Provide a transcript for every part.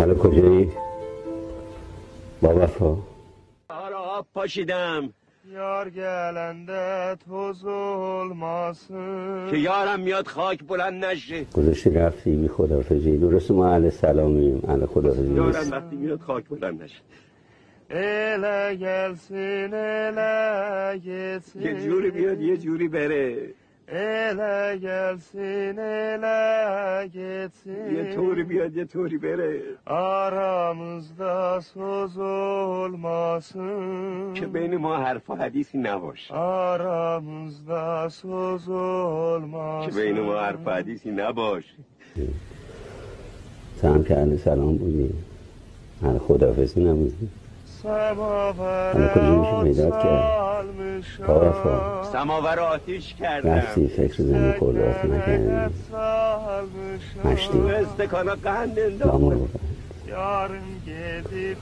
حالا کجایی؟ با وفا آب پاشیدم یار گلنده تو ظلماسın که یارم میاد خاک بلند نشه. گذاشتی رفتی بی خداحافظی. درست ما اهل سلامیم، اهل خداحافظی یارم نیست. وقتی میاد خاک بلند نشه. ele gelsin ele gitsin یه جوری بیاد یه جوری بره. ele gelsin ele gitsin یه طوری بیاد یه طوری بره aramızda söz olmasın که بین ما حرف و حدیثی نباشه. aramızda söz olmasın که بین ما حرف و حدیثی نباشه. تو هم که اهل سلام بودی، اهل خداحافظی نبودی. حالا کجا میشه پیدات کرد؟ با وفا سماور آتیش کردم رفتی فکر زمین خوردات نکردی، مشتی تو استکانا قند دامور انداختم. بودن. yarın gidip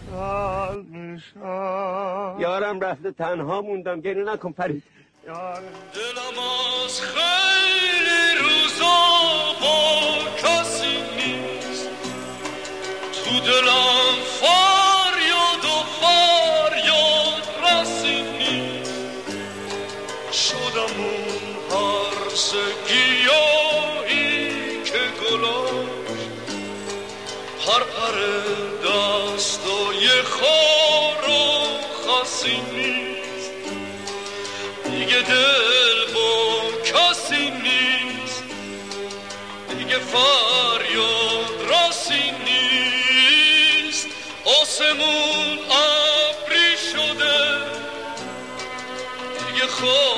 kalmışam یارم رفته تنها موندم. گریه نکن فرید. yarın دلم از خیلی روزا با کسی نیست تو دلم فریاد و فریاد رسی نیست شدم اون هرس گیاهی که گلاش هر پر دستای خار و خسی نیست دیگه دل با کسی نیست دیگه فریاد راسی نیست آسمون ابری شده دیگه